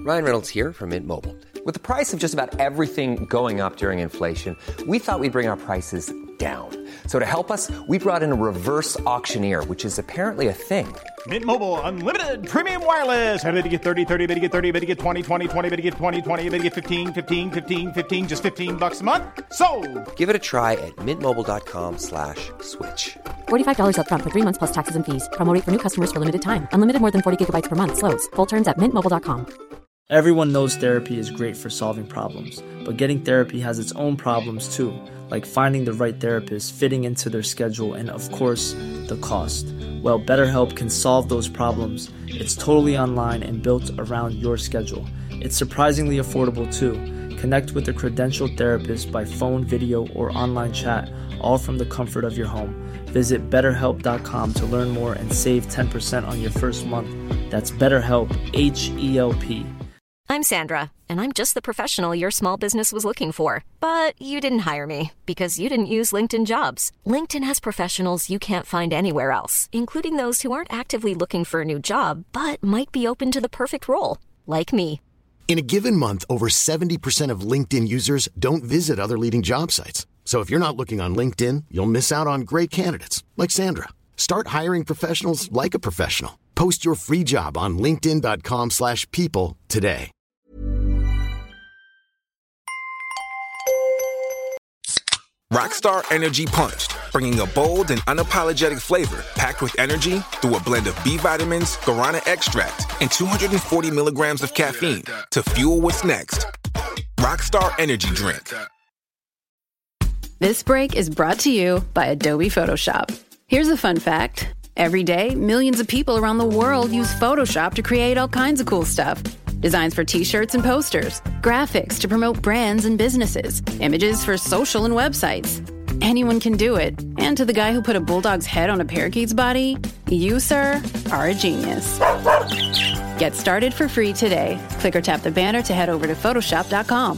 Ryan Reynolds here from Mint Mobile. With the price of just about everything going up during inflation, we thought we'd bring our prices down. So to help us, we brought in a reverse auctioneer, which is apparently a thing. Mint Mobile Unlimited Premium Wireless. How to get 30, 30, bit to get 30, bit to get 20, 20, 20, bit to get 20, 20, bit to get 15, 15, 15, 15, just $15 a month? Sold! Give it a try at mintmobile.com/switch. $45 up front for 3 months plus taxes and fees. Promo rate for new customers for limited time. Unlimited more than 40 gigabytes per month. Slows full terms at mintmobile.com. Everyone knows therapy is great for solving problems, but getting therapy has its own problems too, like finding the right therapist, fitting into their schedule, and of course, the cost. Well, BetterHelp can solve those problems. It's totally online and built around your schedule. It's surprisingly affordable too. Connect with a credentialed therapist by phone, video, or online chat, all from the comfort of your home. Visit BetterHelp.com to learn more and save 10% on your first month. That's BetterHelp, H-E-L-P. I'm Sandra, and I'm just the professional your small business was looking for. But you didn't hire me because you didn't use LinkedIn Jobs. LinkedIn has professionals you can't find anywhere else, including those who aren't actively looking for a new job, but might be open to the perfect role, like me. In a given month, over 70% of LinkedIn users don't visit other leading job sites. So if you're not looking on LinkedIn, you'll miss out on great candidates like Sandra. Start hiring professionals like a professional. Post your free job on linkedin.com/people today. Rockstar Energy Punched, bringing a bold and unapologetic flavor packed with energy through a blend of B vitamins, guarana extract, and 240 milligrams of caffeine to fuel what's next. Rockstar Energy Drink. This break is brought to you by Adobe Photoshop. Here's a fun fact. Every day, millions of people around the world use Photoshop to create all kinds of cool stuff. Designs for t-shirts and posters, graphics to promote brands and businesses, images for social and websites. Anyone can do it. And to the guy who put a bulldog's head on a parakeet's body, you, sir, are a genius. Get started for free today. Click or tap the banner to head over to photoshop.com.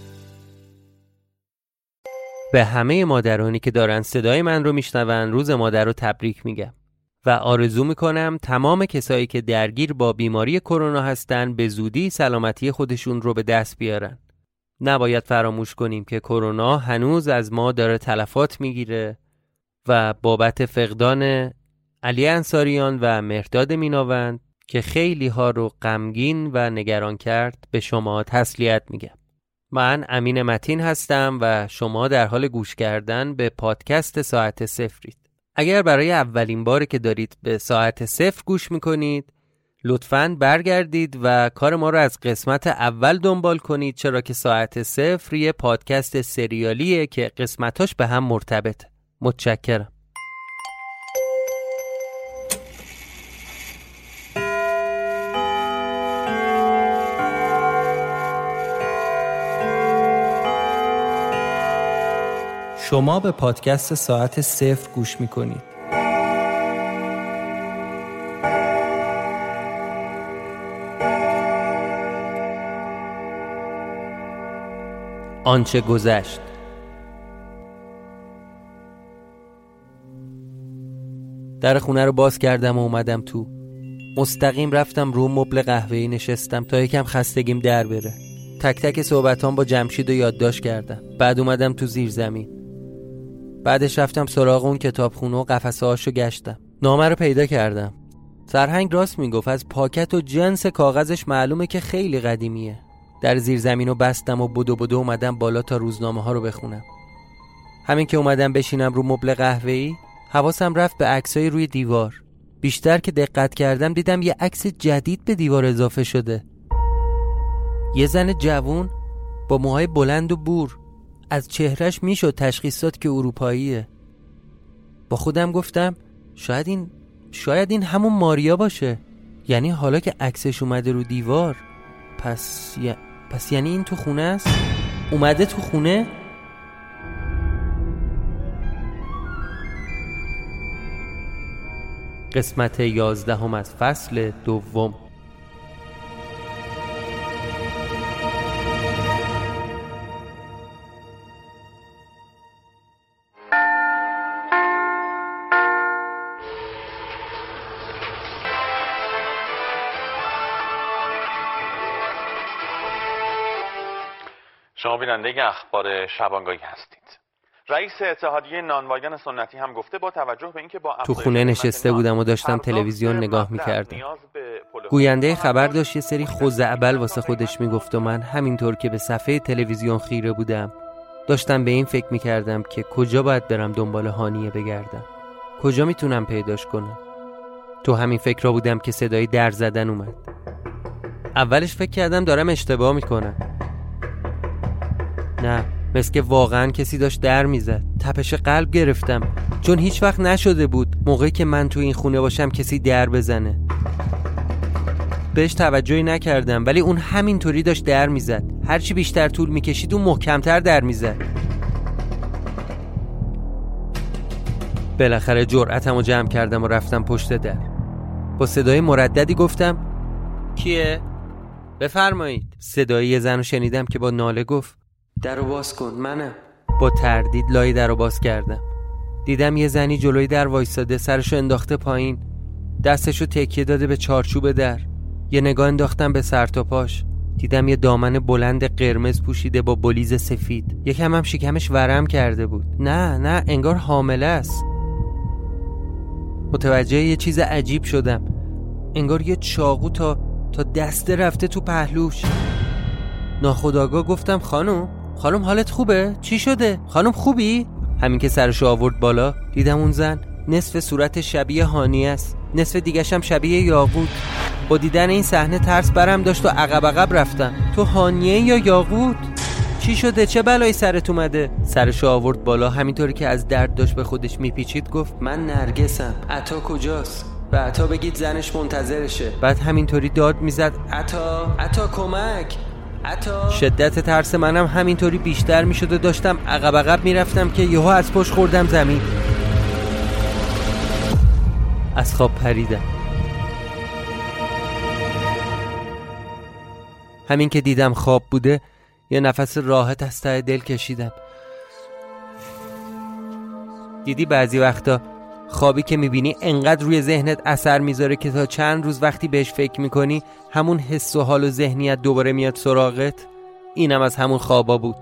به همه مادرانی که دارن صدای من رو میشنون روز مادر رو تبریک میگم و آرزو میکنم تمام کسایی که درگیر با بیماری کرونا هستن به زودی سلامتی خودشون رو به دست بیارن. نباید فراموش کنیم که کرونا هنوز از ما داره تلفات میگیره و بابت فقدان علی انصاریان و مهرداد میناوند که خیلی ها رو غمگین و نگران کرد به شما تسلیت میگم. من امین متین هستم و شما در حال گوش کردن به پادکست ساعت صفرید. اگر برای اولین باره که دارید به ساعت صفر گوش میکنید لطفاً برگردید و کار ما رو از قسمت اول دنبال کنید، چرا که ساعت صفر یه پادکست سریالیه که قسمتاش به هم مرتبطه. متشکرم. شما به پادکست ساعت صفر گوش میکنید. آنچه گذشت. در خونه رو باز کردم و اومدم تو. مستقیم رفتم رو مبل قهوه‌ای نشستم تا یکم خستگیم در بره. تک تک صحبتام با جمشید رو یادداشت کردم. بعد اومدم تو زیرزمین. بعدش رفتم سراغ اون کتابخونه و قفسه هاشو گشتم. نامه رو پیدا کردم. سرهنگ راست میگفت، از پاکت و جنس کاغذش معلومه که خیلی قدیمیه. در زیرزمین رو بستم و بدو اومدم بالا تا روزنامه ها رو بخونم. همین که اومدم بشینم رو مبل قهوه‌ای حواسم رفت به عکسای روی دیوار. بیشتر که دقت کردم دیدم یه عکس جدید به دیوار اضافه شده. یه زن جوون با موهای بلند و بور. از چهرش میشد تشخیص داد که اروپاییه. با خودم گفتم شاید این همون ماریا باشه. یعنی حالا که عکسش اومده رو دیوار پس یعنی این تو خونه است؟ اومده تو خونه؟ قسمت 11 از فصل دوم. شما بیننده اخبار شبانگاهی هستید. رئیس اتحادیه نانوایان سنتی هم گفته با توجه به اینکه با تو خونه نشسته بودم و داشتم تلویزیون نگاه می‌کردم. گوینده خبر داشت یه سری خزعبل واسه خودش میگفت و من همینطور که به صفحه تلویزیون خیره بودم داشتم به این فکر می‌کردم که کجا باید برم دنبال هانیه بگردم. کجا میتونم پیداش کنم؟ تو همین فکر را بودم که صدای در زدن اومد. اولش فکر کردم دارم اشتباه میکنم. نه، مثل که واقعا کسی داشت در میزد. تپش قلب گرفتم چون هیچ وقت نشده بود موقعی که من تو این خونه باشم کسی در بزنه. بهش توجهی نکردم ولی اون همینطوری داشت در میزد. هرچی بیشتر طول میکشید اون محکمتر در میزد. بالاخره جرأتمو جمع کردم و رفتم پشت در. با صدای مرددی گفتم کیه؟ بفرمایید. صدای یه زن رو شنیدم که با ناله گفت درو باز کن، منم. با تردید لای درو باز کردم. دیدم یه زنی جلوی در وایساده، سرشو انداخته پایین، دستشو تکیه داده به چارچوب در. یه نگاه انداختم به سر تا پاش. دیدم یه دامن بلند قرمز پوشیده با بلیز سفید. یکم هم شکمش ورم کرده بود. نه انگار حامله است. متوجه یه چیز عجیب شدم. انگار یه چاقو تا دسته رفته تو پهلوش. ناخودآگاه گفتم خانم حالت خوبه؟ چی شده؟ خانم خوبی؟ همین که سرشو آورد بالا دیدم اون زن نصف صورت شبیه هانیه است، نصف دیگه‌ش هم شبیه یاقوت. با دیدن این صحنه ترس برم داشت و عقب رفتم. تو هانیه یا یاقوت؟ چی شده؟ چه بلایی سرت اومده؟ سرشو آورد بالا، همینطوری که از درد داشت به خودش میپیچید گفت من نرگسم. عطا کجاست؟ به عطا بگید زنش منتظرشه. بعد همینطوری داد میزد عطا کمک، عطا. شدت ترس منم همینطوری بیشتر میشد و داشتم عقب میرفتم که یهو از پشت خوردم زمین. از خواب پریدم. همین که دیدم خواب بوده یه نفس راحت از ته دل کشیدم. دیدی بعضی وقتا خوابی که میبینی انقدر روی ذهنت اثر میذاره که تا چند روز وقتی بهش فکر میکنی همون حس و حال و ذهنیت دوباره میاد سراغت؟ اینم از همون خوابا بود.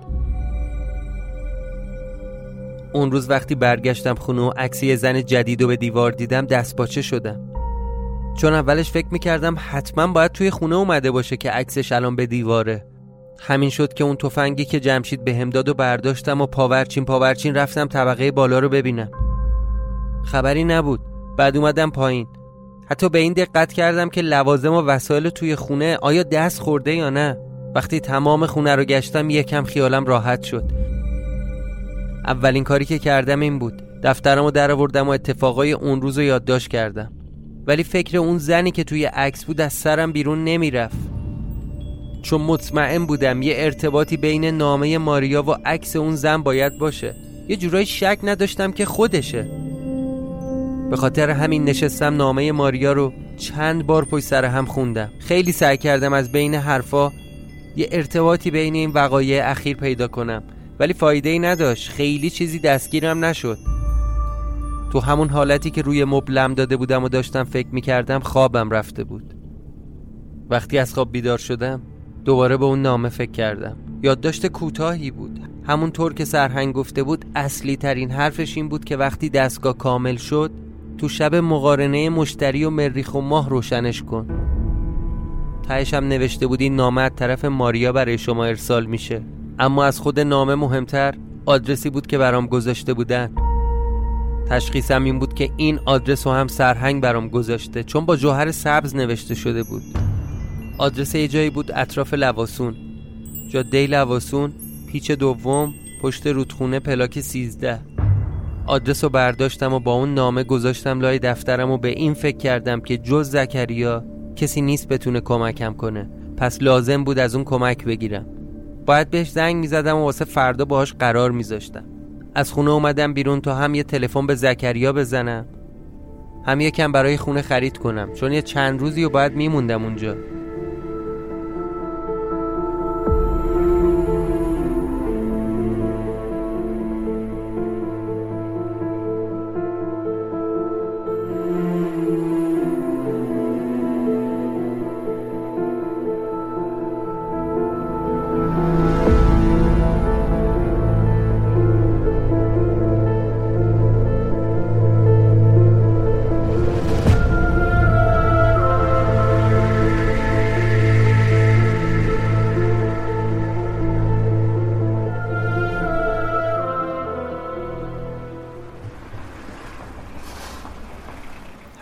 اون روز وقتی برگشتم خونه و عکس یه زن جدیدو به دیوار دیدم دستپاچه شدم. چون اولش فکر میکردم حتما باید توی خونه اومده باشه که عکسش الان به دیواره. همین شد که اون تفنگی که جمشید بهم داد و برداشتم و پاورچین رفتم طبقه بالا رو ببینم. خبری نبود. بعد اومدم پایین. حتی به این دقت کردم که لوازم و وسایل توی خونه آیا دست خورده یا نه. وقتی تمام خونه رو گشتم یکم خیالم راحت شد. اولین کاری که کردم این بود. دفترمو درآوردم و اتفاقای اون روزو یادداشت کردم. ولی فکر اون زنی که توی عکس بود از سرم بیرون نمیرفت. چون مطمئن بودم یه ارتباطی بین نامه ماریا و عکس اون زن باید باشه. یه جورایی شک نداشتم که خودشه. به خاطر همین نشستم نامه ماریا رو چند بار پشت سر هم خوندم. خیلی سعی کردم از بین حرفا یه ارتباطی بین این وقایع اخیر پیدا کنم ولی فایده‌ای نداشت. خیلی چیزی دستگیرم نشد. تو همون حالتی که روی مبلم داده بودم و داشتم فکر می‌کردم خوابم رفته بود. وقتی از خواب بیدار شدم دوباره به اون نامه فکر کردم. یادداشت کوتاهی بود. همونطور که سرهنگ گفته بود اصلی ترین حرفش این بود که وقتی دستگاه کامل شد تو شب مقارنه مشتری و مریخ و ماه روشنش کن. تهش هم نوشته بود این نامه از طرف ماریا برای شما ارسال میشه. اما از خود نامه مهمتر آدرسی بود که برام گذاشته بودن. تشخیصم این بود که این آدرس رو هم سرهنگ برام گذاشته چون با جوهر سبز نوشته شده بود. آدرس یه جایی بود اطراف لواسون، جاده لواسون، پیچ دوم، پشت رودخونه پلاک 13. آدرس رو برداشتم و با اون نامه گذاشتم لای دفترم و به این فکر کردم که جز زکریا کسی نیست بتونه کمکم کنه. پس لازم بود از اون کمک بگیرم. باید بهش زنگ میزدم و واسه فردا باهاش قرار میذاشتم. از خونه اومدم بیرون تا هم یه تلفن به زکریا بزنم هم یکم برای خونه خرید کنم چون یه چند روزی رو باید میموندم اونجا.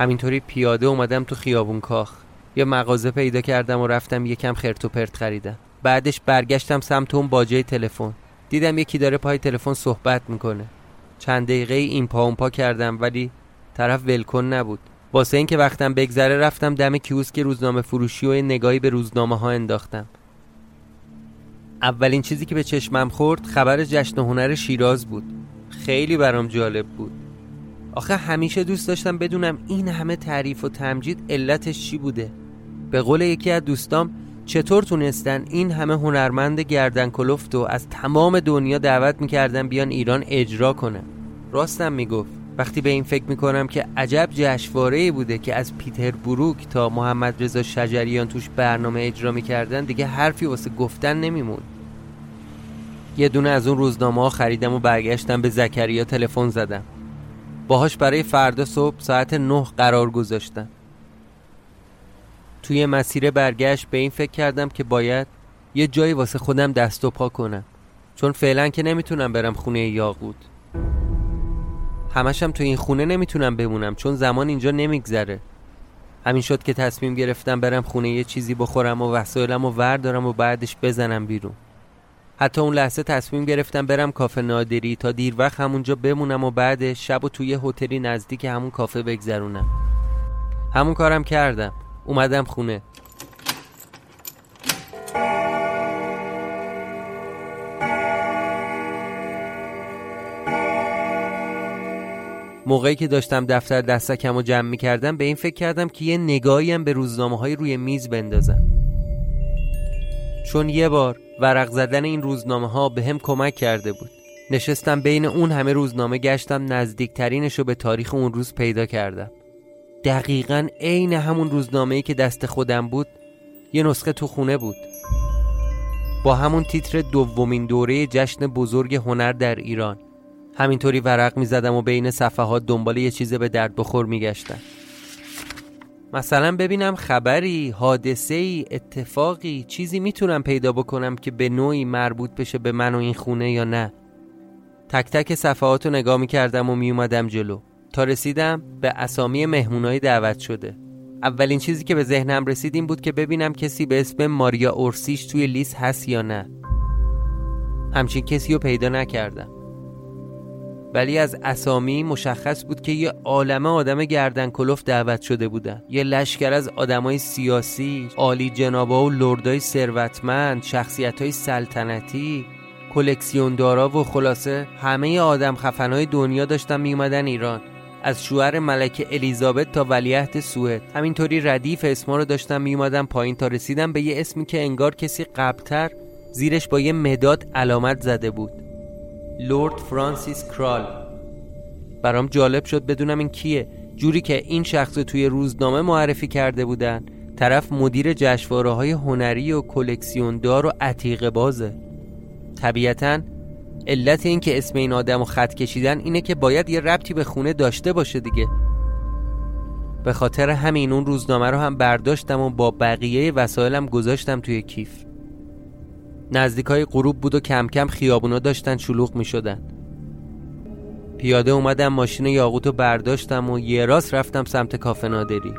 همینطوری پیاده اومدم تو خیابون کاخ. یه مغازه پیدا کردم و رفتم یکم خرت و پرت خریدم. بعدش برگشتم سمت اون باجه تلفن. دیدم یکی داره پای تلفن صحبت میکنه. چند دقیقه این پا اون پا کردم ولی طرف ولکن نبود. واسه این که وقتم بگذره رفتم دم کیوسک روزنامه فروشی و نگاهی به روزنامه ها انداختم. اولین چیزی که به چشمم خورد خبر جشن هنر شیراز بود. خیلی برام جالب بود. آخه همیشه دوست داشتم بدونم این همه تعریف و تمجید علتش چی بوده. به قول یکی از دوستام چطور تونستن این همه هنرمند گردن کلفت و از تمام دنیا دعوت میکردن بیان ایران اجرا کنن. راستم میگفت. وقتی به این فکر میکنم که عجب جشنواره‌ای بوده که از پیتر بروک تا محمد رضا شجریان توش برنامه اجرا میکردن دیگه حرفی واسه گفتن نمیمون. یه دونه از اون روزنامه‌ها خریدم و برگشتم به زکریا تلفن زدم. باهاش برای فردا صبح ساعت 9 قرار گذاشتم. توی مسیر برگشت به این فکر کردم که باید یه جایی واسه خودم دست و پا کنم، چون فعلا که نمیتونم برم خونه یاقوت. همشم تو این خونه نمیتونم بمونم چون زمان اینجا نمیگذره. همین شد که تصمیم گرفتم برم خونه یه چیزی بخورم و وسایلمو وردارم و بعدش بزنم بیرون. حتی اون لحظه تصمیم گرفتم برم کافه نادری تا دیر وقت همونجا بمونم و بعد شبو توی هتلی نزدیک همون کافه بگذرونم. همون کارم کردم. اومدم خونه. موقعی که داشتم دفتر دستکمو جمع می‌کردم به این فکر کردم که یه نگاهی هم به روزنامه‌های روی میز بندازم. چون یه بار ورق زدن این روزنامه‌ها به هم کمک کرده بود. نشستم بین اون همه روزنامه گشتم، نزدیکترینشو به تاریخ اون روز پیدا کردم. دقیقاً عین همون روزنامه‌ای که دست خودم بود یه نسخه تو خونه بود، با همون تیتر دومین دوره جشن بزرگ هنر در ایران. همینطوری ورق می‌زدم و بین صفحات دنبال یه چیز به درد بخور می‌گشتم. مثلا ببینم خبری، حادثه‌ای، اتفاقی، چیزی میتونم پیدا بکنم که به نوعی مربوط بشه به من و این خونه یا نه. تک تک صفحاتو نگاه می‌کردم و میومدم جلو تا رسیدم به اسامی مهمونای دعوت شده. اولین چیزی که به ذهنم رسید این بود که ببینم کسی به اسم ماریا اورسیش توی لیست هست یا نه. همچین کسی رو پیدا نکردم، ولی از اسامی مشخص بود که یه عالمه آدم گردن کلفت دعوت شده بودن. یه لشکر از آدمای سیاسی، عالی جنابا و لردای ثروتمند، شخصیت‌های سلطنتی، کلکسیوندارا و خلاصه همه آدم خفنای دنیا داشتن می اومدن ایران. از شوهر ملکه الیزابت تا ولیعهد سوئد. همینطوری ردیف اسما رو داشتم می اومدم پایین تا رسیدم به یه اسمی که انگار کسی قبل‌تر زیرش با یه مداد علامت زده بود: لورد فرانسیس کرال. برام جالب شد بدونم این کیه. جوری که این شخص رو توی روزنامه معرفی کرده بودن، طرف مدیر جشنواره‌های هنری و کلکسیوندار و عتیقه بازه. طبیعتاً علت این که اسم این آدم رو خط کشیدن اینه که باید یه ربطی به خونه داشته باشه دیگه. به خاطر همین اون روزنامه رو هم برداشتم و با بقیه وسایلم گذاشتم توی کیف. نزدیکای غروب بود و کم کم خیابونا داشتن شلوغ می شدن. پیاده اومدم ماشین یاقوت رو برداشتم و یه راست رفتم سمت کافه نادری.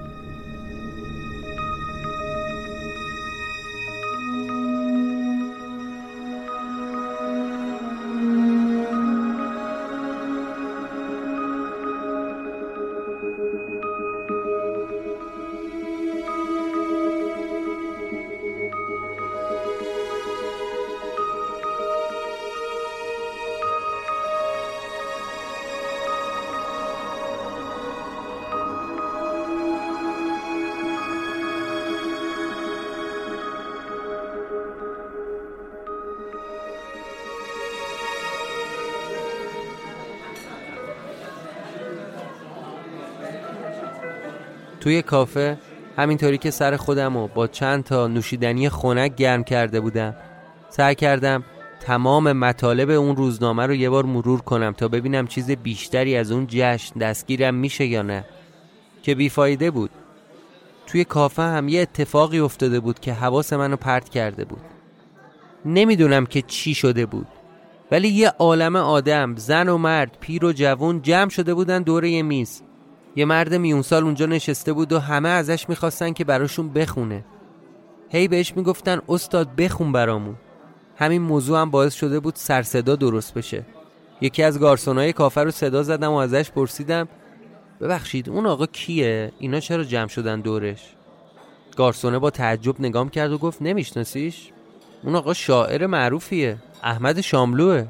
توی کافه همینطوری که سر خودمو با چند تا نوشیدنی خنک گرم کرده بودم، سعی کردم تمام مطالب اون روزنامه رو یه بار مرور کنم تا ببینم چیز بیشتری از اون جشن دستگیرم میشه یا نه، که بیفایده بود. توی کافه هم یه اتفاقی افتاده بود که حواس منو پرت کرده بود. نمیدونم که چی شده بود، ولی یه عالمه آدم، زن و مرد، پیر و جوان جمع شده بودن دور یه میز. یه مرد میونسال اونجا نشسته بود و همه ازش میخواستن که براشون بخونه. هی بهش میگفتن استاد بخون برامون. همین موضوع هم باعث شده بود سر صدا درست بشه. یکی از گارسونای کافه رو صدا زدم و ازش پرسیدم ببخشید اون آقا کیه؟ اینا چرا جمع شدن دورش؟ گارسونه با تعجب نگام کرد و گفت نمیشناسیش؟ اون آقا شاعر معروفیه، احمد شاملوه.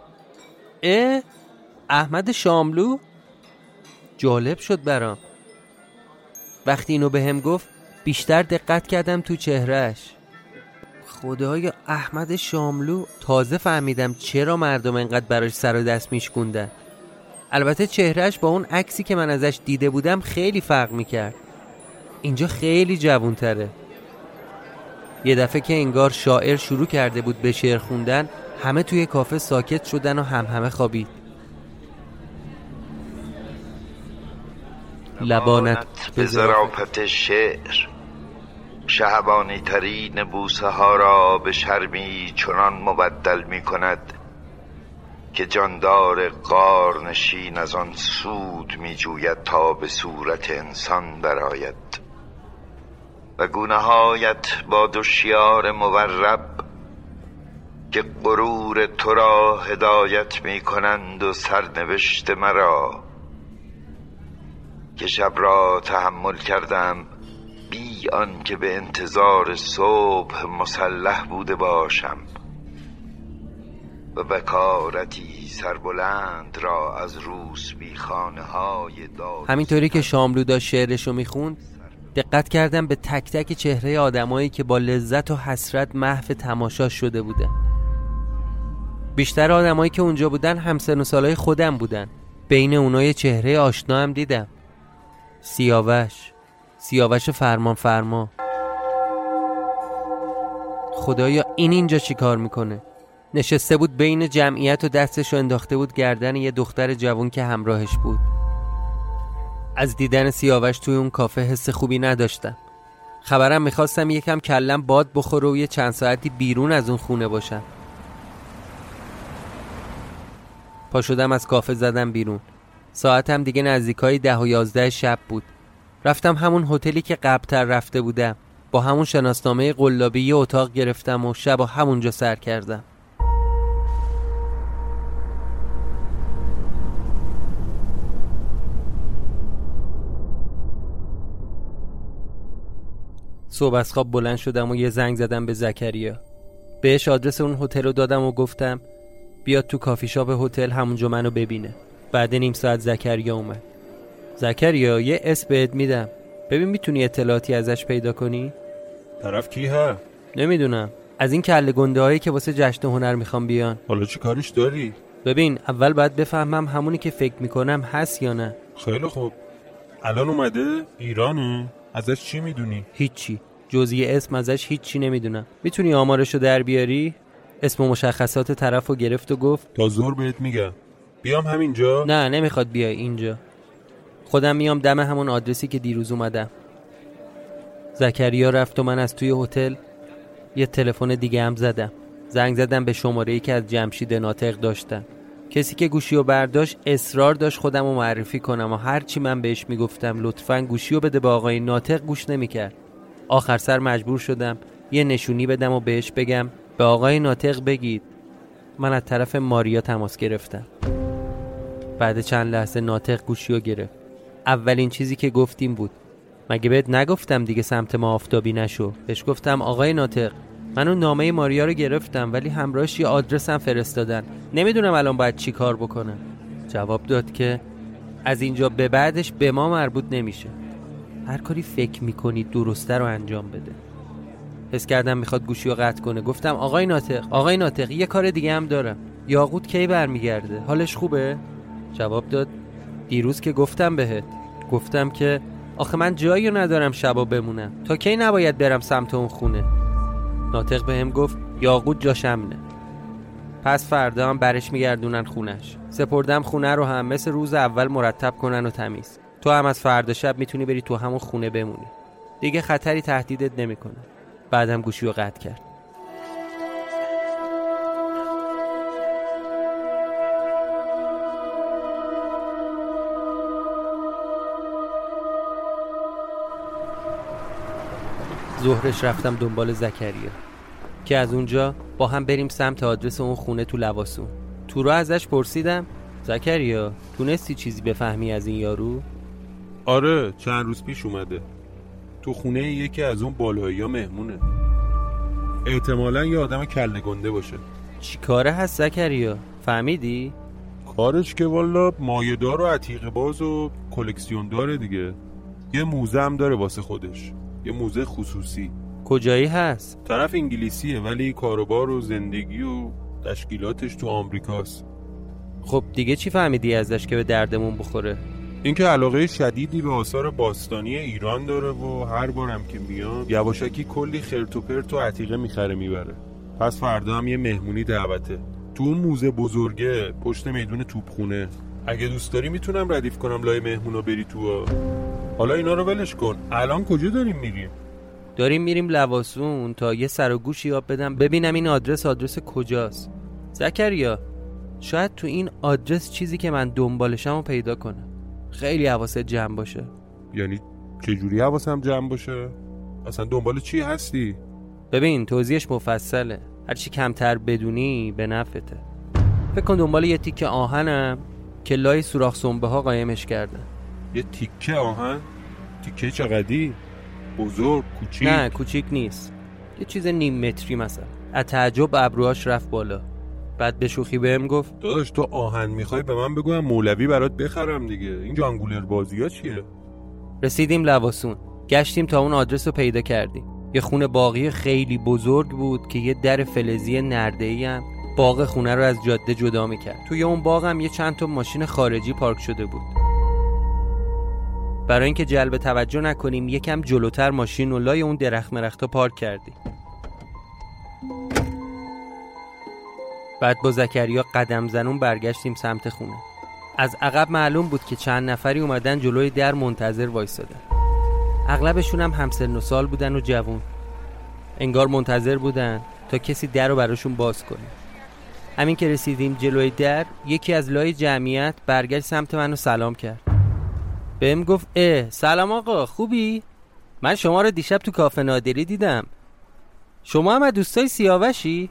احمد شاملو؟ جالب شد برام. وقتی اینو بهم گفت بیشتر دقت کردم تو چهرهش. خدایا احمد شاملو. تازه فهمیدم چرا مردم انقدر براش سر و دست میشکوندن. البته چهرهش با اون عکسی که من ازش دیده بودم خیلی فرق میکرد. اینجا خیلی جوان‌تره. یه دفعه که انگار شاعر شروع کرده بود به شعر خوندن، همه توی کافه ساکت شدن و همه خوابید. لبانت به ظرافت شعر، شهبانی ترین بوسه ها را به شرمی چنان مبدل می کند که جاندار غارنشین از آن سود می جوید تا به صورت انسان درآید و گونه هایت با دو شیار مورب که غرور تو را هدایت می کنند و سرنوشت مرا که شب را تحمل کردم بی آن که به انتظار صبح مسلح بوده باشم و بکارتی سربلند را از روسبی خانه های داد. همینطوری که شاملو داشت شعرشو میخوند دقت کردم به تک تک چهره آدمایی که با لذت و حسرت محو تماشا شده بودن. بیشتر آدمایی که اونجا بودن همسن و سالای خودم بودن. بین اونای چهره آشنا هم دیدم. سیاوش فرما. خدایا این اینجا چی کار میکنه؟ نشسته بود بین جمعیت و دستشو انداخته بود گردن یه دختر جوان که همراهش بود. از دیدن سیاوش توی اون کافه حس خوبی نداشتم. خبرم میخواستم یکم کلم باد بخوره و یه چند ساعتی بیرون از اون خونه باشم. پا شدم از کافه زدم بیرون. ساعتم دیگه نزدیکای 10 و 11 شب بود. رفتم همون هتلی که قبل‌تر رفته بودم. با همون شناسنامه قلابی یه اتاق گرفتم و شب همونجا سر کردم. صبح از خواب بلند شدم و یه زنگ زدم به زکریا. بهش آدرس اون هتل رو دادم و گفتم بیاد تو کافی شاپ هتل همونجا منو ببینه. بعد نیم ساعت زکریا اومد. زکریا یه اسم بهت میدم، ببین میتونی اطلاعاتی ازش پیدا کنی؟ طرف کیه؟ نمیدونم، از این کله گنده هایی که واسه جشن هنر میخوام بیان. حالا چی کارش داری؟ ببین اول باید بفهمم همونی که فکر میکنم هست یا نه. خیلی خوب. الان اومده؟ ایرانه؟ ازش چی میدونی؟ هیچی، جز یه اسم ازش هیچی نمیدونم. میتونی آمارشو در بیاری؟ اسم و مشخصات طرفو گرفت و گفت تا ظهر بهت میگم. بیام همینجا؟ نه نمیخواد بیای اینجا، خودم میام دم همون آدرسی که دیروز اومدم. زکریا رفت و من از توی هتل یه تلفن دیگه هم زدم. زنگ زدم به شماره‌ای که از جمشید ناطق داشتم. کسی که گوشیو برداشت اصرار داشت خودمو معرفی کنم و هرچی من بهش میگفتم لطفاً گوشیو بده به آقای ناطق گوش نمیکرد. آخر سر مجبور شدم یه نشونی بدم و بهش بگم به آقای ناطق بگید من از طرف ماریا تماس گرفتم. بعد چند لحظه ناطق گوشیو گرفت. اولین چیزی که گفتیم بود مگه بهت نگفتم دیگه سمت ما آفتابی نشو؟ بهش گفتم آقای ناطق من اون نامه ماریا رو گرفتم ولی همراهش یه آدرسم فرستادن، نمیدونم الان باید چی کار بکنم. جواب داد که از اینجا به بعدش به ما مربوط نمیشه، هر کاری فکر میکنی درسته رو انجام بده. حس کردم میخواد گوشی رو قطع کنه. گفتم آقای ناطق یه کار دیگه هم دارم. یاقوت کی برمیگرده؟ حالش خوبه؟ جواب داد دیروز که گفتم بهت، گفتم که آخه من جایی ندارم شبا بمونم، تا کی نباید برم سمت اون خونه. ناطق بهم گفت یاقوت جاش امنه. پس فردا هم برش میگردونن خونش. سپردم خونه رو هم مثل روز اول مرتب کنن و تمیز. تو هم از فردا شب میتونی بری تو همون خونه بمونی، دیگه خطری تهدیدت نمیکنه. بعدم گوشی رو قطع کرد. ظهرش رفتم دنبال زکریا که از اونجا با هم بریم سمت آدرس اون خونه تو لواسون. تو راه ازش پرسیدم زکریا تونستی چیزی بفهمی از این یارو؟ آره چند روز پیش اومده تو خونه یکی از اون بالایی‌ها مهمونه. احتمالاً یه آدم کله گنده باشه. چی کاره هست زکریا؟ فهمیدی؟ کارش که والا مایه‌دار و عتیقه باز و کلکسیون داره دیگه. یه موزه هم داره واسه خودش، یه موزه خصوصی. کجایی هست؟ طرف انگلیسیه ولی کاروبار و زندگی و تشکیلاتش تو آمریکاست. خب دیگه چی فهمیدی ازش که به دردمون بخوره؟ اینکه علاقه شدیدی به آثار باستانی ایران داره و هر بارم که میاد یواشکی کلی خرت و پرت و عتیقه میخره میبره. پس فردا هم یه مهمونی دعوته تو اون موزه بزرگه پشت میدون توپخونه. اگه دوست داری میتونم ردیف کنم لای مهمونا بری تو. حالا اینا رو ولش کن. الان کجا داریم میریم؟ داریم میریم لواسون تا یه سر و گوشی یاب بدم ببینم این آدرس کجاست. زکریا شاید تو این آدرس چیزی که من دنبالشم رو پیدا کنم. خیلی حواست جمع باشه. یعنی چجوری حواسم جمع باشه؟ اصلا دنبال چی هستی؟ ببین توضیحش مفصله، هرچی کمتر بدونی به نفته. فکر کن دنبال یه تیکه آهنم که لای سوراخ سنبه ها قایمش کردن. یه تیکه آهن؟ تیکه چقدی؟ بزرگ؟ کوچیک؟ نه کوچیک نیست، یه چیز نیم متری مثلا. از تعجب ابروهاش رفت بالا. بعد به شوخی بهم گفت داداش تو آهن میخوای به من بگویم مولوی برات بخرم دیگه. این جانگولر بازی ها چیه؟ رسیدیم لواسون، گشتیم تا اون آدرس رو پیدا کردیم. یه خونه باغی خیلی بزرگ بود که یه در فلزی نرده‌ای هم باغ خونه رو از جاده جدا میکرد. توی اون باغ هم یه چند تا ماشین خارجی پارک شده بود. برای اینکه جلب توجه نکنیم یکم جلوتر ماشین رو لای اون درخت مرختا پارک کردیم. بعد با زکریا قدم زنون برگشتیم سمت خونه. از عقب معلوم بود که چند نفری اومدن جلوی در منتظر وایسادن. اغلبشون هم همسن و سال بودن و جوون. انگار منتظر بودن تا کسی در رو براشون باز کنه. همین که رسیدیم جلوی در یکی از لای جمعیت برگشت سمت من و سلام کرد. بهم گفت سلام آقا خوبی؟ من شما رو دیشب تو کافه نادری دیدم. شما هم از دوستای سیاوشی؟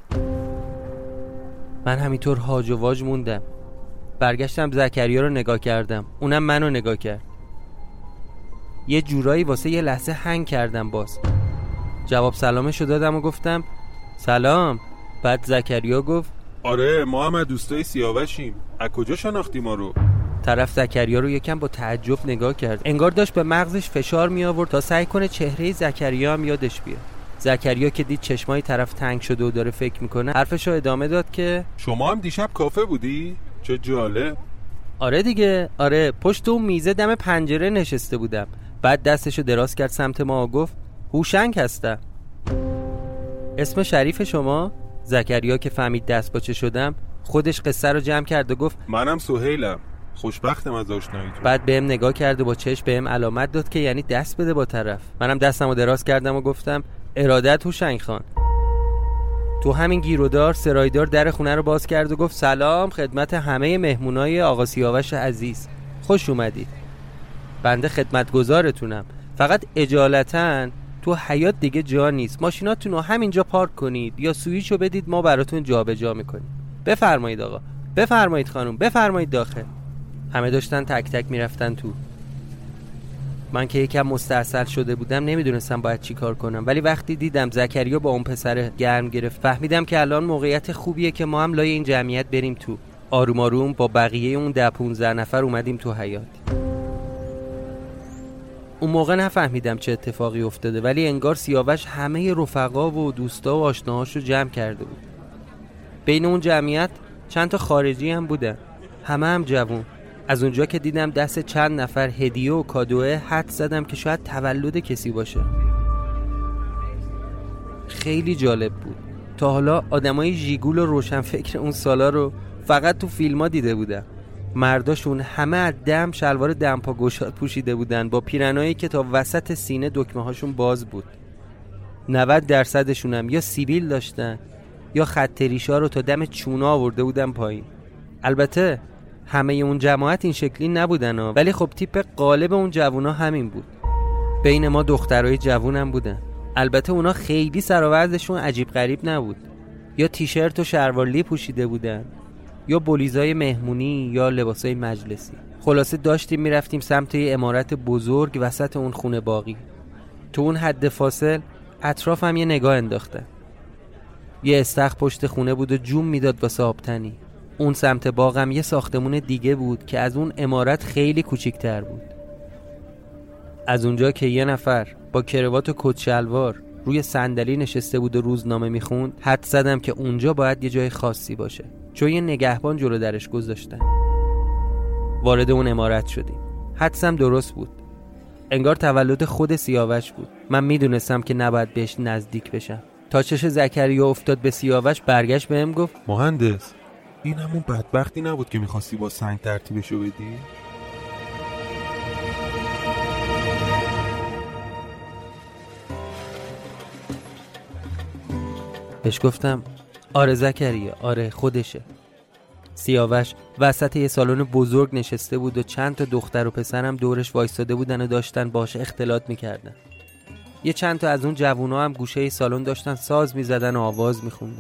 من همینطور هاج و واج موندم. برگشتم زکریا رو نگاه کردم، اونم منو نگاه کرد. یه جورایی واسه یه لحظه هنگ کردم. باز جواب سلامشو دادم و گفتم سلام. بعد زکریا گفت آره ما هم از دوستای سیاوشیم. از کجا شناختی ما رو؟ طرف زکریا رو یکم با تعجب نگاه کرد، انگار داشت به مغزش فشار می آورد تا سعی کنه چهره زکریا هم یادش بیاد. زکریا که دید چشمای طرف تنگ شده و داره فکر میکنه حرفشو ادامه داد که شما هم دیشب کافه بودی؟ چه جالب. آره دیگه، آره پشت اون میزه دم پنجره نشسته بودم. بعد دستشو دراز کرد سمت ما و گفت هوشنگ هستم. اسم شریف شما؟ زکریا که فهمید دست باچه شدم خودش قصه رو جمع کرد و گفت منم سهیلم، خوشبختم از آشناییتون. بعد بهم نگاه کرد و با چشم بهم علامت داد که یعنی دست بده با طرف. منم دستمو دراز کردم و گفتم ارادت هوشنگ خان. تو همین گیرودار سرایدار در خونه رو باز کرد و گفت سلام خدمت همه مهمونای آقا سیاوش عزیز، خوش اومدید. بنده خدمتگزارتونم، فقط اجالتاً تو حیاط دیگه جا نیست، ماشیناتون رو همینجا پارک کنید یا سویچو بدید ما براتون جابجا میکنیم. بفرمایید آقا، بفرمایید خانم، بفرمایید داخل. همه داشتن تک تک میرفتن تو. من که یکم مستعسل شده بودم نمیدونستم باید چی کار کنم، ولی وقتی دیدم زکریا با اون پسر گرم گرفت فهمیدم که الان موقعیت خوبیه که ما هم لای این جمعیت بریم تو. آروم آروم با بقیه اون 10-15 نفر اومدیم تو حیاط. اون موقع نفهمیدم چه اتفاقی افتاده، ولی انگار سیاوش همه رفقا و دوستا و آشناهاشو جمع کرده بود. بین اون جمعیت چند تا خارجی هم بودن، همه هم جوون. از اونجا که دیدم دست چند نفر هدیه و کادوه حد زدم که شاید تولد کسی باشه. خیلی جالب بود. تا حالا آدمای ژیگول و روشنفکر اون سالا رو فقط تو فیلم‌ها دیده بودم. مرداشون همه از دم شلوار دمپا گشاد پوشیده بودن با پیرنایی که تا وسط سینه دکمه هاشون باز بود. 90% هم یا سیبیل داشتن یا خط ریشا رو تا دم چونا آورده بودن پایین. البته همه اون جماعت این شکلی نبودن ولی خب تیپ غالب اون جوونا همین بود. بین ما دخترای جوون هم بودن. البته اونا خیلی سر و وضعشون عجیب غریب نبود. یا تیشرت و شلوارلی پوشیده بودن، یا بلیزای مهمونی، یا لباسای مجلسی. خلاصه داشتیم میرفتیم سمت یه عمارت بزرگ وسط اون خونه باقی. تو اون حد فاصل اطرافم یه نگاه انداختم. یه استخر پشت خونه بود و جون میداد واسه آبتنی. اون سمت باغم یه ساختمون دیگه بود که از اون عمارت خیلی کوچیک‌تر بود. از اونجا که یه نفر با کراوات و کت شلوار روی صندلی نشسته بود و روزنامه میخوند، حد زدم که اونجا باید یه جای خاصی باشه، چون یه نگهبان جلو درش گذاشتن. وارد اون عمارت شدیم. حدسم درست بود. انگار تولد خود سیاوش بود. من میدونستم که نباید بهش نزدیک بشم. تا چش زکریا افتاد به سیاوش، برگشت بهم گفت مهندس، این همون بدبختی نبود که میخواستی با سنگ ترتیبشو بدی؟ بهش گفتم آره زکریا، آره خودشه. سیاوش وسط یه سالن بزرگ نشسته بود و چند تا دختر و پسرم دورش وایستاده بودن و داشتن باهاش اختلاط میکردن. یه چند تا از اون جوونا هم گوشه سالن داشتن ساز میزدن و آواز میخوندن.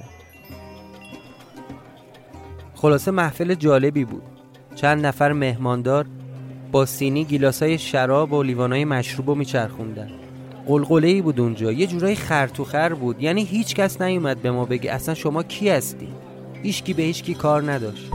خلاصه محفل جالبی بود. چند نفر مهماندار با سینی گیلاسای شراب و لیوانای مشروبو میچرخوندن. قلقله‌ای بود اونجا، یه جورایی خر بود. یعنی هیچ کس نیومد به ما بگه اصلا شما کی هستی. هیچکی به هیچکی کار نداشت.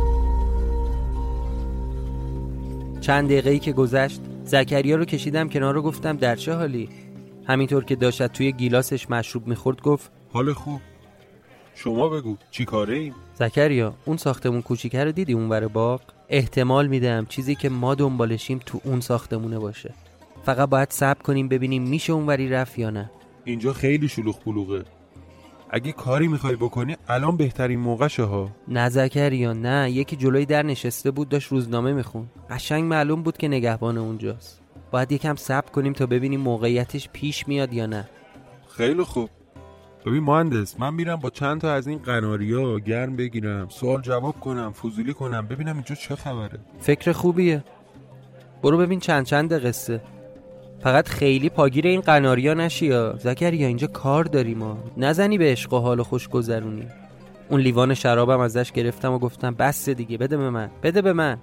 چند دقیقه‌ای که گذشت، زکریا رو کشیدم کنار و گفتم در چه حالی؟ همینطور که داشت توی گیلاسش مشروب میخورد گفت حال خوب. شما بگو چی کاره ایم؟ زکریا، اون ساختمون کوچیکه رو دیدی اونور باغ؟ احتمال میدم چیزی که ما دنبالشیم تو اون ساختمونه باشه. فقط باید صبر کنیم ببینیم میشه اونوری رفت یا نه. اینجا خیلی شلوغ پلوغه. اگه کاری میخوای بکنی الان بهترین موقعشه ها. نه زکریا نه، یکی جلوی در نشسته بود داشت روزنامه میخون. قشنگ معلوم بود که نگهبان اونجاست. باید یکم صبر کنیم تا ببینیم موقعیتش پیش میاد یا نه. خیلی خوب. ببین مهندس، من میرم با چند تا از این قناریا گرم بگیرم، سوال جواب کنم، فضولی کنم، ببینم اینجا چه خبره. فکر خوبیه. برو ببین چند قصه. فقط خیلی پاگیر این قناریا نشی یا زکریا، اینجا کار داریم ما. نزنی به عشق و حال و خوش گذرونی. اون لیوان شرابم ازش گرفتم و گفتم بس دیگه، بده به من.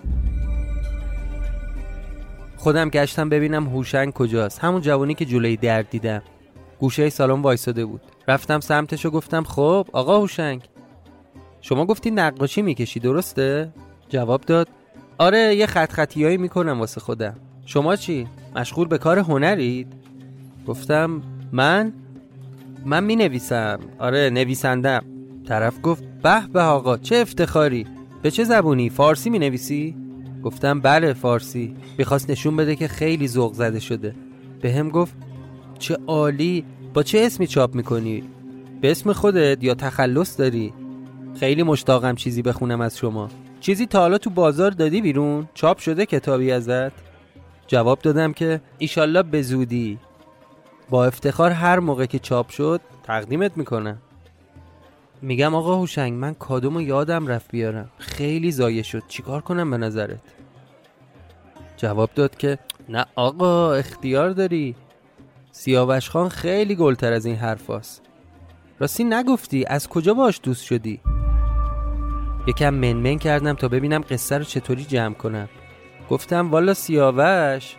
خودم گشتم ببینم هوشنگ کجاست، همون جوانی که جلوی در دیدم. گوشه سالن وایساده بود. رفتم سمتش و گفتم خب آقا هوشنگ، شما گفتی نقاشی میکشی درسته؟ جواب داد آره، یه خطیایی میکنم واسه خودم. شما چی؟ مشغول به کار هنرید؟ گفتم من مینویسم. آره نویسندم. طرف گفت به آقا چه افتخاری. به چه زبونی؟ فارسی مینویسی؟ گفتم بله فارسی. میخواست نشون بده که خیلی ذوق زده شده. بهم گفت چه عالی. با چه اسمی چاپ میکنی؟ به اسم خودت یا تخلص داری؟ خیلی مشتاقم چیزی بخونم از شما. چیزی تا حالا تو بازار دادی بیرون؟ چاپ شده کتابی ازت؟ جواب دادم که ایشالله به زودی. با افتخار هر موقع که چاپ شد تقدیمت میکنم. میگم آقا هوشنگ، من کادومو یادم رفت بیارم، خیلی ضایع شد، چیکار کنم به نظرت؟ جواب داد که نه آقا اختیار داری. سیاوش خان خیلی گلتر از این حرفاست. راستی نگفتی از کجا باش دوست شدی؟ یکم منمن کردم تا ببینم قصه رو چطوری جمع کنم. گفتم والا سیاوش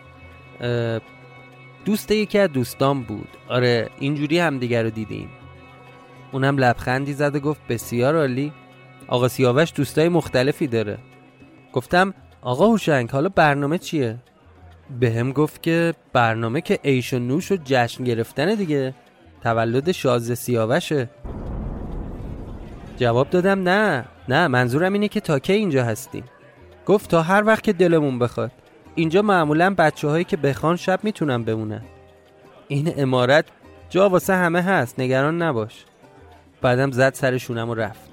دوست یکی از دوستان بود. آره اینجوری هم دیگر رو دیدیم. اونم لبخندی زد و گفت بسیار عالی. آقا سیاوش دوستای مختلفی داره. گفتم آقا هوشنگ حالا برنامه چیه؟ بهم گفت که برنامه که عیش و نوش و جشن گرفتن دیگه، تولد شازده سیاوشه. جواب دادم نه منظورم اینه که تا کی اینجا هستیم. گفت تا هر وقت که دلمون بخواد. اینجا معمولا بچه‌هایی که بخوان شب میتونن بمونن. این عمارت جا واسه همه هست، نگران نباش. بعدم زد سر شونم و رفت.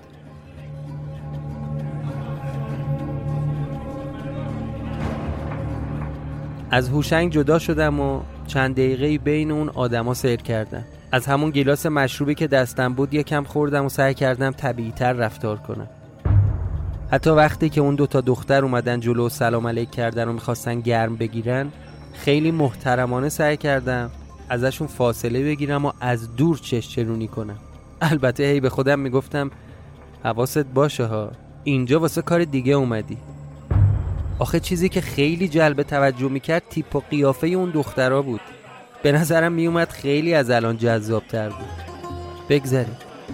از هوشنگ جدا شدم و چند دقیقه‌ای بین اون آدما سیر کردم. از همون گیلاس مشروبی که دستم بود یکم خوردم و سعی کردم طبیعی‌تر رفتار کنم. حتی وقتی که اون دوتا دختر اومدن جلو و سلام علیک کردن و میخواستن گرم بگیرن، خیلی محترمانه سعی کردم ازشون فاصله بگیرم و از دور چشچرونی کنم. البته هی به خودم میگفتم حواست باشه ها، اینجا واسه کار دیگه اومدی. آخه چیزی که خیلی جلب توجه میکرد تیپ و قیافه اون دخترا بود. به نظرم میومد خیلی از الان جذاب‌تر بود. بگذاریم.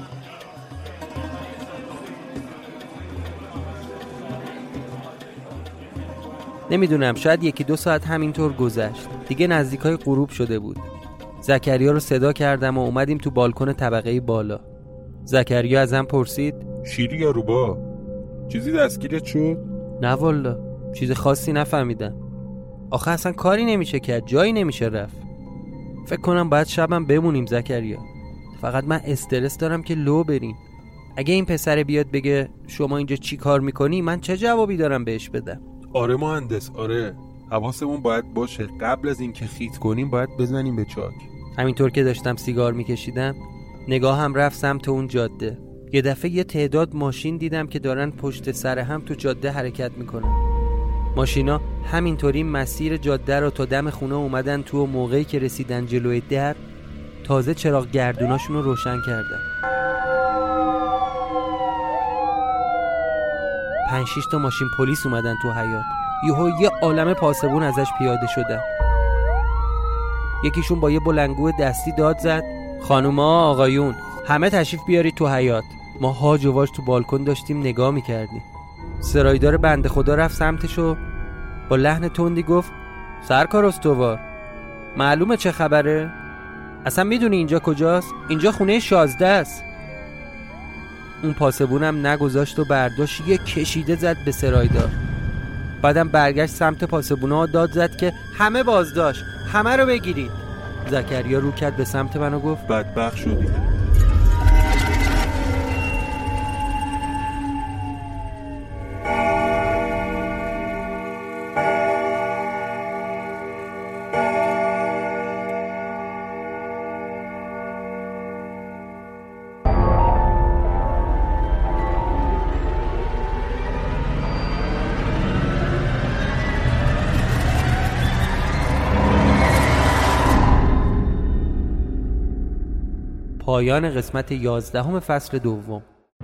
نمیدونم، شاید 1-2 ساعت همینطور گذشت. دیگه نزدیکای غروب شده بود. زکریا رو صدا کردم و اومدیم تو بالکن طبقه بالا. زکریا ازم پرسید شیری یا روبا؟ چیزی دستگیرت شد؟ نه والا، چیز خاصی نفهمیدم. آخه اصلا کاری نمیشه کرد، جایی نمیشه رفت. فکر کنم باید شبم بمونیم زکریا. فقط من استرس دارم که لو بریم. اگه این پسر بیاد بگه شما اینجا چی کار میکنی، من چه جوابی دارم بهش بدم؟ آره مهندس، آره. حواسمون باید باشه قبل از اینکه خیت کنیم باید بزنیم به چاک. همینطور که داشتم سیگار میکشیدم نگاهم رفت سمت اون جاده. یه دفعه یه تعداد ماشین دیدم که دارن پشت سر هم تو جاده حرکت میکنن. ماشینا همینطوری مسیر جاده رو تا دم خونه اومدن تو و موقعی که رسیدن جلوی در تازه چراغ گردوناشون رو روشن کردن. 5-6 تا ماشین پلیس اومدن تو حیاط. یه عالمه پاسبون ازش پیاده شدن. یکیشون با یه بلنگو دستی داد زد خانوما آقایون همه تشریف بیارید تو حیاط. ما هاج و واج تو بالکن داشتیم نگاه میکردیم. سرایدار بنده خدا رفت سمتشو با لحن تندی گفت سرکار استوار معلومه چه خبره؟ اصلا میدونی اینجا کجاست؟ اینجا خونه 16 است. اون پاسبونم نگذاشت و برداشت یه کشیده زد به سرایدار. بعدم برگشت سمت پاسبونا داد زد که همه بازداشت، همه رو بگیرید. زکریا رو کرد به سمت من و گفت بدبخت شدی. پایان قسمت 11 فصل دوم.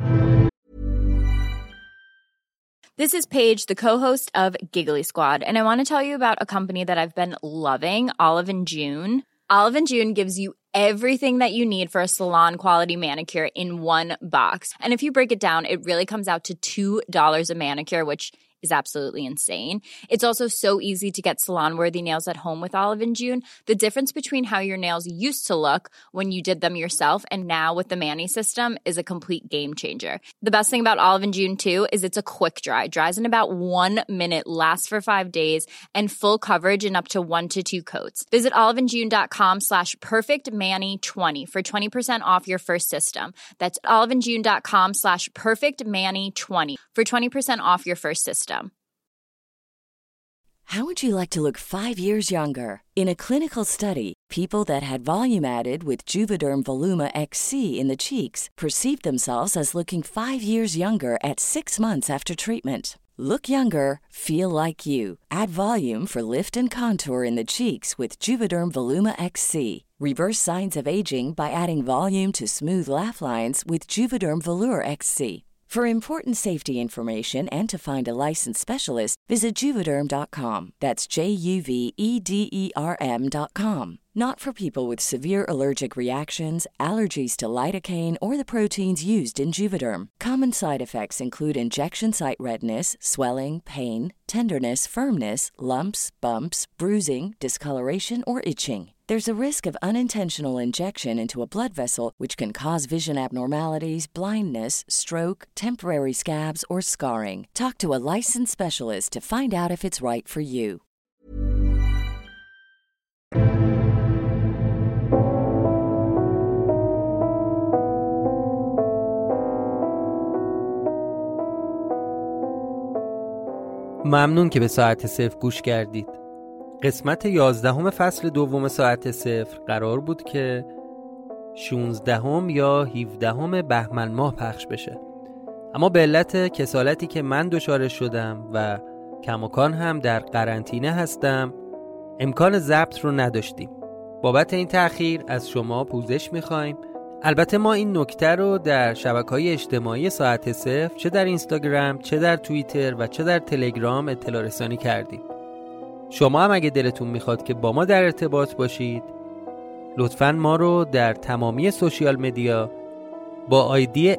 This is Paige, the co-host of Giggly Squad, and I want to tell you about a company that I've been loving, Olive & June. Olive & June gives you everything that you need for a salon-quality manicure in one box. And if you break it down, it really comes out to $2 a manicure, which is absolutely insane. It's also so easy to get salon-worthy nails at home with Olive & June. The difference between how your nails used to look when you did them yourself and now with the Mani system is a complete game changer. The best thing about Olive & June, too, is it's a quick dry. Dries in about 1 minute, lasts for 5 days, and full coverage in up to 1 to 2 coats. Visit oliveandjune.com/perfectmani20 for 20% off your first system. That's oliveandjune.com/perfectmani20 for 20% off your first system. How would you like to look 5 years younger? In a clinical study, people that had volume added with Juvederm Voluma XC in the cheeks perceived themselves as looking 5 years younger at 6 months after treatment. Look younger, feel like you. Add volume for lift and contour in the cheeks with Juvederm Voluma XC. Reverse signs of aging by adding volume to smooth laugh lines with Juvederm Volure XC. For important safety information and to find a licensed specialist, visit Juvederm.com. That's JUVEDERM.com. Not for people with severe allergic reactions, allergies to lidocaine, or the proteins used in Juvederm. Common side effects include injection site redness, swelling, pain, tenderness, firmness, lumps, bumps, bruising, discoloration, or itching. There's a risk of unintentional injection into a blood vessel, which can cause vision abnormalities, blindness, stroke, temporary scabs, or scarring. Talk to a licensed specialist to find out if it's right for you. ممنون که به ساعت صفر گوش کردید. قسمت 11 فصل دوم ساعت صفر قرار بود که 16 یا 17 بهمن ماه پخش بشه، اما به علت کسالتی که من دچارش شدم و کماکان هم در قرنطینه هستم امکان ضبط رو نداشتیم. بابت این تأخیر از شما پوزش می‌خوایم. البته ما این نکته رو در شبکه‌های اجتماعی ساعت صفر، چه در اینستاگرام، چه در توییتر و چه در تلگرام اطلاع رسانی کردیم. شما هم اگه دلتون میخواد که با ما در ارتباط باشید، لطفاً ما رو در تمامی سوشیال مدیا با آیدی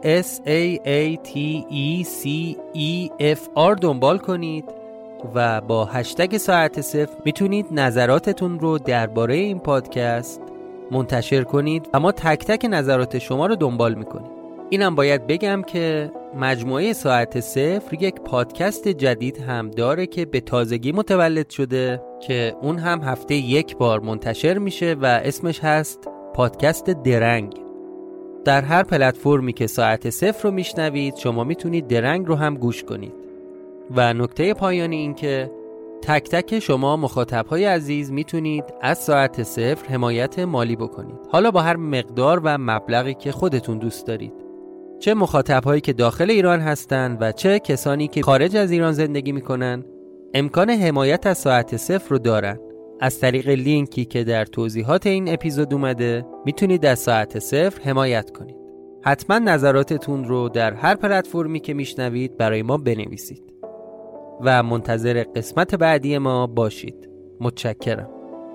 SAATECEFR دنبال کنید و با هشتگ ساعت صفر میتونید نظراتتون رو درباره این پادکست منتشر کنید و ما تک تک نظرات شما رو دنبال میکنیم. اینم باید بگم که مجموعه ساعت صفر یک پادکست جدید هم داره که به تازگی متولد شده که اون هم هفته یک بار منتشر میشه و اسمش هست پادکست درنگ. در هر پلتفرمی که ساعت صفر رو میشنوید شما میتونید درنگ رو هم گوش کنید. و نکته پایانی این که تک تک شما مخاطبهای عزیز میتونید از ساعت صفر حمایت مالی بکنید، حالا با هر مقدار و مبلغی که خودتون دوست دارید. چه مخاطبهایی که داخل ایران هستن و چه کسانی که خارج از ایران زندگی میکنن امکان حمایت از ساعت صفر رو دارن. از طریق لینکی که در توضیحات این اپیزود اومده میتونید از ساعت صفر حمایت کنید. حتما نظراتتون رو در هر پلتفرمی که میشنوید برای ما بنویسید و منتظر قسمت بعدی ما باشید. متشکرم.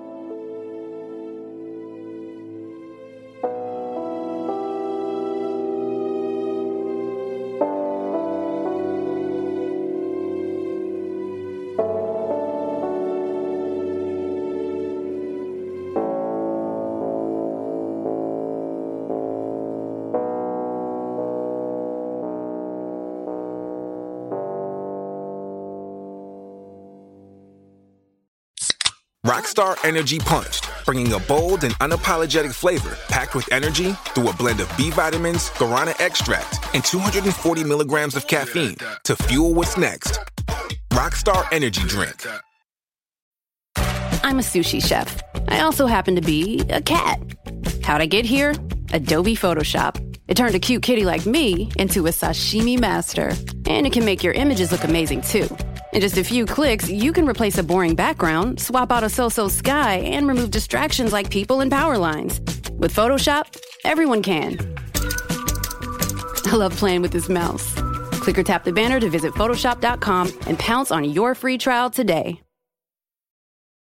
Rockstar Energy Punched, bringing a bold and unapologetic flavor packed with energy through a blend of B vitamins, guarana extract, and 240 milligrams of caffeine to fuel what's next. Rockstar Energy Drink. I'm a sushi chef. I also happen to be a cat. How'd I get here? Adobe Photoshop. It turned a cute kitty like me into a sashimi master. And it can make your images look amazing too. In just a few clicks, you can replace a boring background, swap out a so-so sky, and remove distractions like people and power lines. With Photoshop, everyone can. I love playing with this mouse. Click or tap the banner to visit Photoshop.com and pounce on your free trial today.